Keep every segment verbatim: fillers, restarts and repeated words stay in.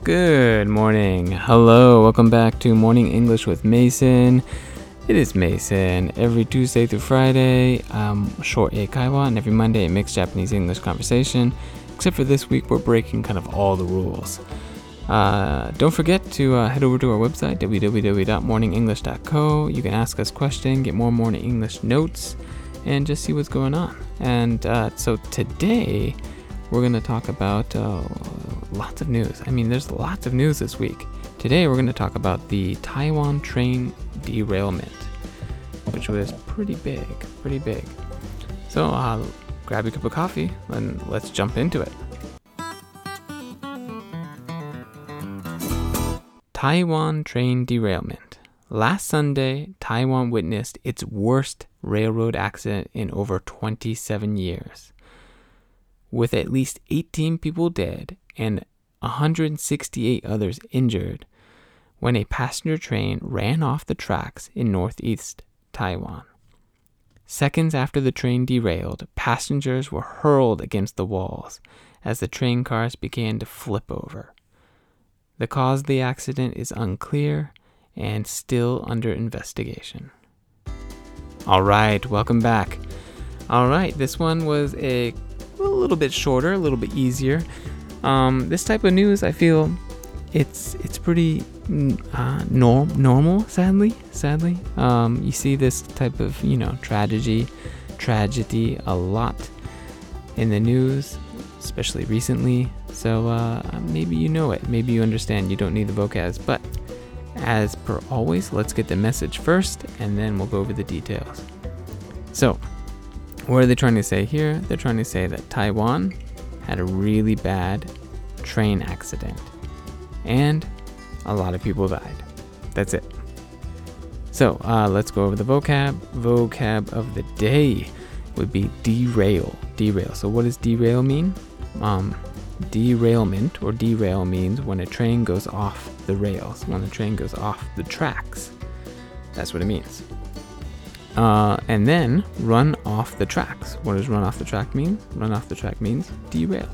Good morning. Hello. Welcome back to Morning English with Mason. It is Mason. Every Tuesday through Friday, um, short eikaiwa, and every Monday a mixed Japanese-English conversation. Except for this week, we're breaking kind of all the rules. Uh, don't forget to uh, head over to our website, w w w dot morning english dot co. You can ask us questions, get more Morning English notes, and just see what's going on. And uh, so today, we're going to talk about uh, lots of news. I mean, there's lots of news this week. Today, we're going to talk about the Taiwan train derailment, which was pretty big, pretty big. So uh, grab your cup of coffee and let's jump into it. Taiwan train derailment. Last Sunday, Taiwan witnessed its worst railroad accident in over twenty-seven years. With at least eighteen people dead and one hundred sixty-eight others injured when a passenger train ran off the tracks in northeast Taiwan. Seconds after the train derailed, passengers were hurled against the walls as the train cars began to flip over. The cause of the accident is unclear and still under investigation. All right, welcome back. All right, this one was a a little bit shorter, a little bit easier. Um, this type of news, I feel it's it's pretty uh, norm normal. Sadly, sadly, um, you see this type of you know tragedy, tragedy a lot in the news, especially recently. So uh, maybe you know it, maybe you understand. You don't need the vocabs, but as per always, let's get the message first, and then we'll go over the details. So. What are they trying to say here? They're trying to say that Taiwan had a really bad train accident and a lot of people died. That's it. So uh, let's go over the vocab. Vocab of the day would be derail. Derail. So what does derail mean? Um, derailment or derail means when a train goes off the rails, when the train goes off the tracks. That's what it means. Uh, and then run off the tracks. What does run off the track mean? Run off the track means derail.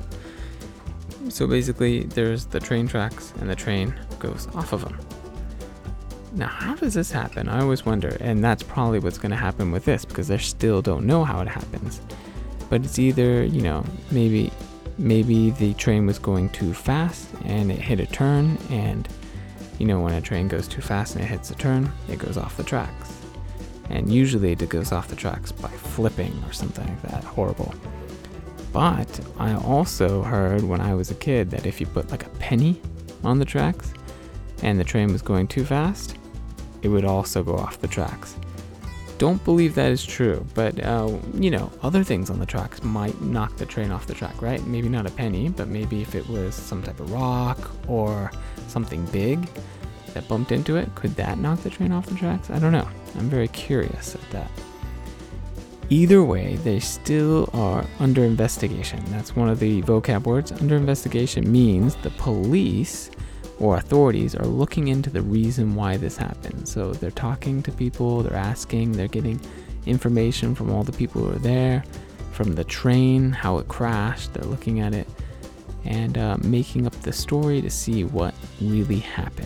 So basically, there's the train tracks and the train goes off of them. Now, how does this happen? I always wonder, and that's probably what's going to happen with this because they still don't know how it happens. But it's either, you know, maybe maybe the train was going too fast and it hit a turn, and you know, when a train goes too fast and it hits a turn, it goes off the tracks. And usually it goes off the tracks by flipping or something like that. Horrible. But I also heard when I was a kid that if you put like a penny on the tracks and the train was going too fast, it would also go off the tracks. Don't believe that is true, but uh, you know, other things on the tracks might knock the train off the track, right? Maybe not a penny, but maybe if it was some type of rock or something big that bumped into it, could that knock the train off the tracks? I don't know. I'm very curious at that. Either way, they still are under investigation. That's one of the vocab words. Under investigation means the police or authorities are looking into the reason why this happened. So they're talking to people, they're asking, they're getting information from all the people who are there, from the train, how it crashed, they're looking at it, and uh, making up the story to see what really happened.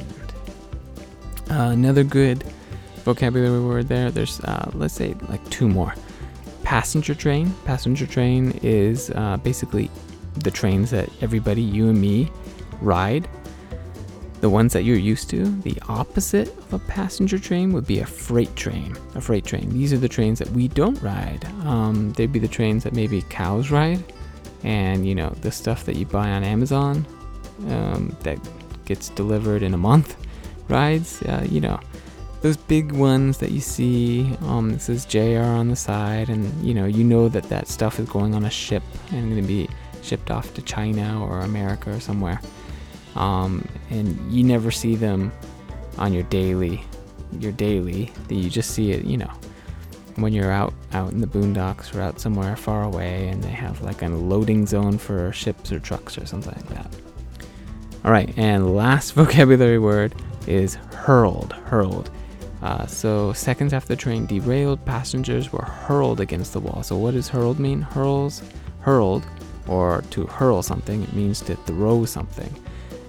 Uh, another good vocabulary word there, there's, uh, let's say, like two more. Passenger train. Passenger train is uh, basically the trains that everybody, you and me, ride. The ones that you're used to. The opposite of a passenger train would be a freight train. A freight train. These are the trains that we don't ride. Um, they'd be the trains that maybe cows ride. And, you know, the stuff that you buy on Amazon um, that gets delivered in a month rides, uh, you know, those big ones that you see, um, it says J R on the side, and you know, you know that that stuff is going on a ship and going to be shipped off to China or America or somewhere. Um, and you never see them on your daily, your daily, you just see it, you know, when you're out, out in the boondocks or out somewhere far away and they have like a loading zone for ships or trucks or something like that. All right, and last vocabulary word is hurled, hurled. Uh, so seconds after the train derailed, passengers were hurled against the wall. So what does hurled mean? Hurls, hurled, or to hurl something, it means to throw something.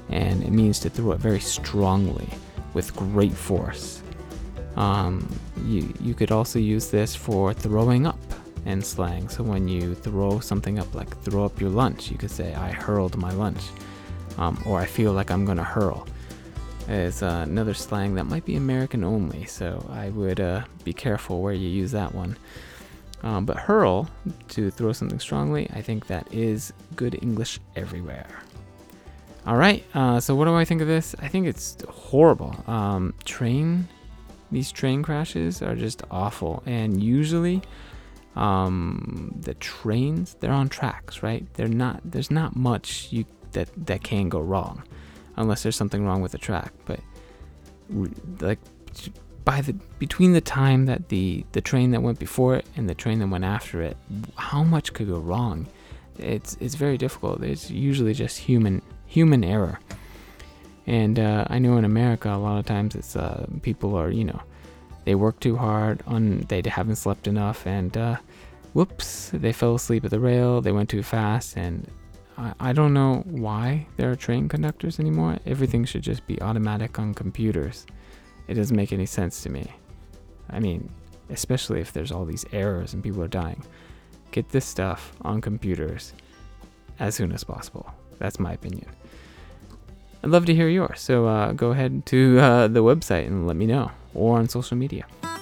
and it means to throw it very strongly with great force. Um, you, you could also use this for throwing up in slang. So when you throw something up, like throw up your lunch, you could say, I hurled my lunch, um, or I feel like I'm gonna hurl. Is uh, another slang that might be American only, so I would uh, be careful where you use that one. Um, but hurl, to throw something strongly, I think that is good English everywhere. All right, uh, so what do I think of this? I think it's horrible. Um, train, these train crashes are just awful, and usually um, the trains, they're on tracks, right? They're not. There's not much you that that can go wrong, unless there's something wrong with the track. But like by the between the time that the the train that went before it and the train that went after it, how much could go wrong? It's it's very difficult. It's usually just human human error. And uh, I know in America, a lot of times it's uh, people are, you know, they work too hard, on they haven't slept enough, and uh, whoops, they fell asleep at the rail, they went too fast, and I, I don't know why there are train conductors anymore. Everything should just be automatic on computers. It doesn't make any sense to me. I mean, especially if there's all these errors and people are dying. Get this stuff on computers as soon as possible. That's my opinion. I'd love to hear yours, so uh, go ahead to uh, the website and let me know, or on social media.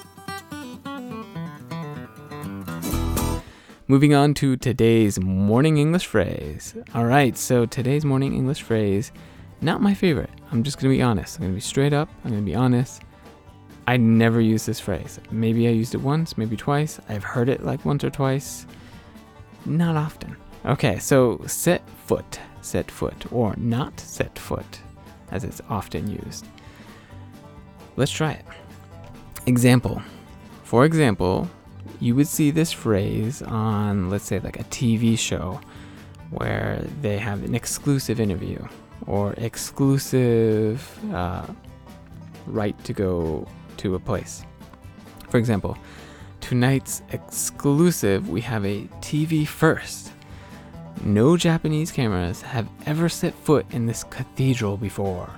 Moving on to today's morning English phrase. All right, so today's morning English phrase, not my favorite. I'm just going to be honest. I'm going to be straight up. I'm going to be honest. I never use this phrase. Maybe I used it once, maybe twice. I've heard it like once or twice. Not often. Okay, so set foot. Set foot, or not set foot, as it's often used. Let's try it. Example. For example, you would see this phrase on, let's say, like a T V show where they have an exclusive interview or exclusive uh, right to go to a place. For example, tonight's exclusive, we have a T V first. No Japanese cameras have ever set foot in this cathedral before.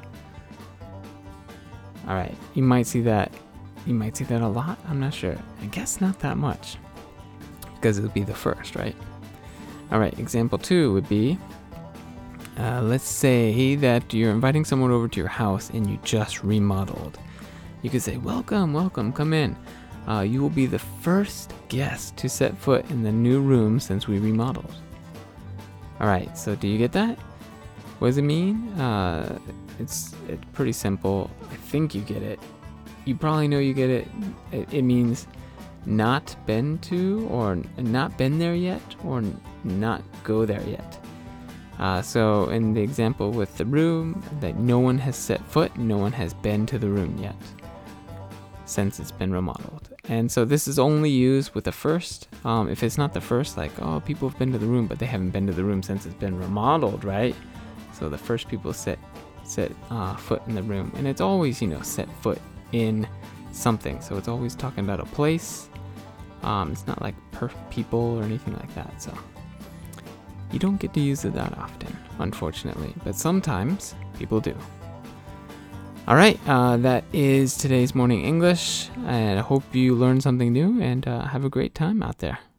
All right, you might see that. You might see that a lot. I'm not sure. I guess not that much, because it would be the first, right? All right, example two would be, uh, let's say that you're inviting someone over to your house and you just remodeled. You could say, welcome, welcome, come in. Uh, you will be the first guest to set foot in the new room since we remodeled. All right, so do you get that? What does it mean? Uh, it's, it's pretty simple. I think you get it. You probably know you get it. It, it means not been to, or not been there yet, or not go there yet. Uh, so in the example with the room, that no one has set foot, no one has been to the room yet since it's been remodeled. And so this is only used with the first. Um, if it's not the first, like, oh, people have been to the room, but they haven't been to the room since it's been remodeled, right? So the first people set set uh, foot in the room. And it's always, you know, set foot in something. So it's always talking about a place. Um, it's not like per people or anything like that. So you don't get to use it that often, unfortunately. But sometimes people do. All right, uh, that is today's morning English, and I hope you learned something new, and uh, have a great time out there.